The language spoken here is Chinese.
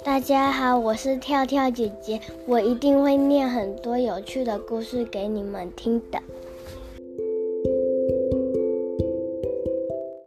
大家好，我是跳跳姐姐，我一定會念很多有趣的故事給你們聽的。